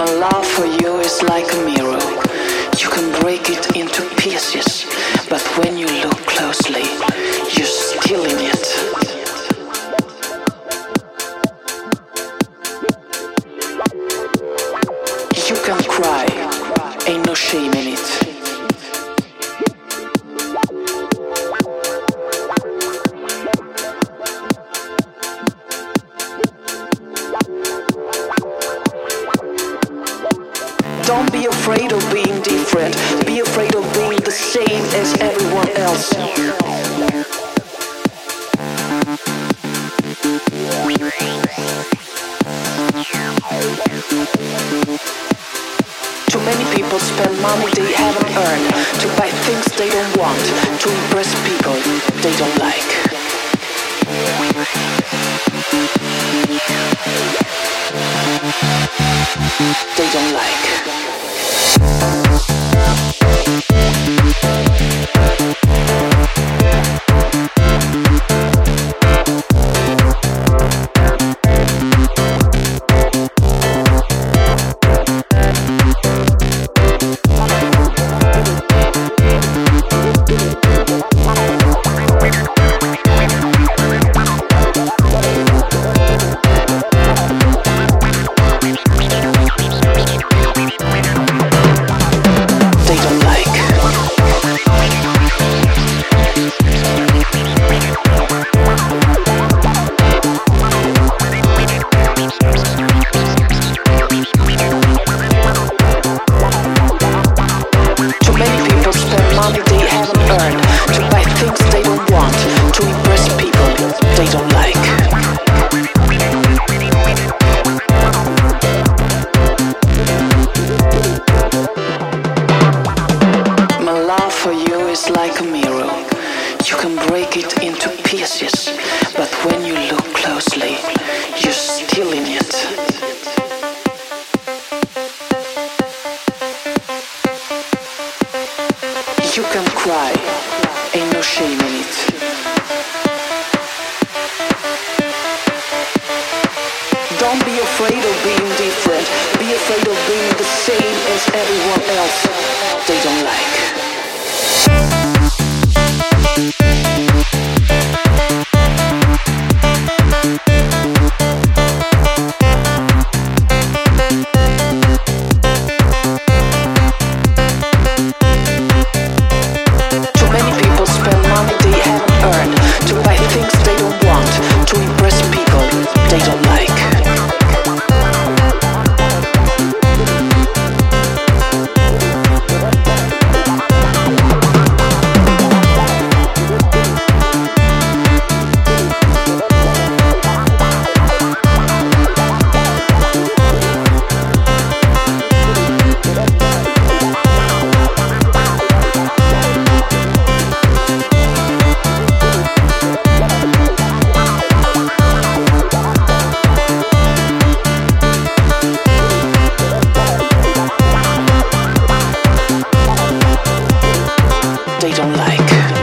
My love for you is like a mirror. You can break it into pieces, but when you look closely, you're still in it. You can cry, ain't no shame in it. Don't be afraid of being different. Be afraid of being the same as everyone else. Too many people spend money they haven't earned to buy things they don't want, to impress people they don't like. They don't like. Like a mirror, you can break it into pieces, but when you look closely, you're still in it. You can cry, ain't no shame in it. Don't be afraid of being different. Be afraid of being the same as everyone else they don't like. They don't like.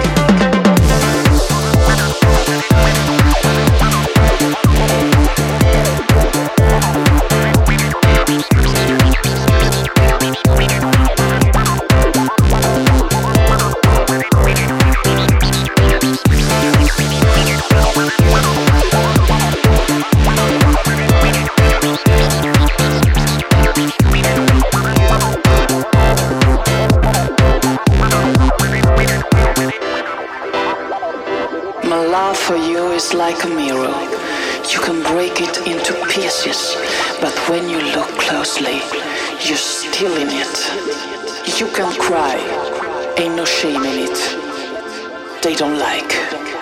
My love for you is like a mirror. You can break it into pieces, but when you look closely, you're still in it. You can cry, ain't no shame in it. They don't like.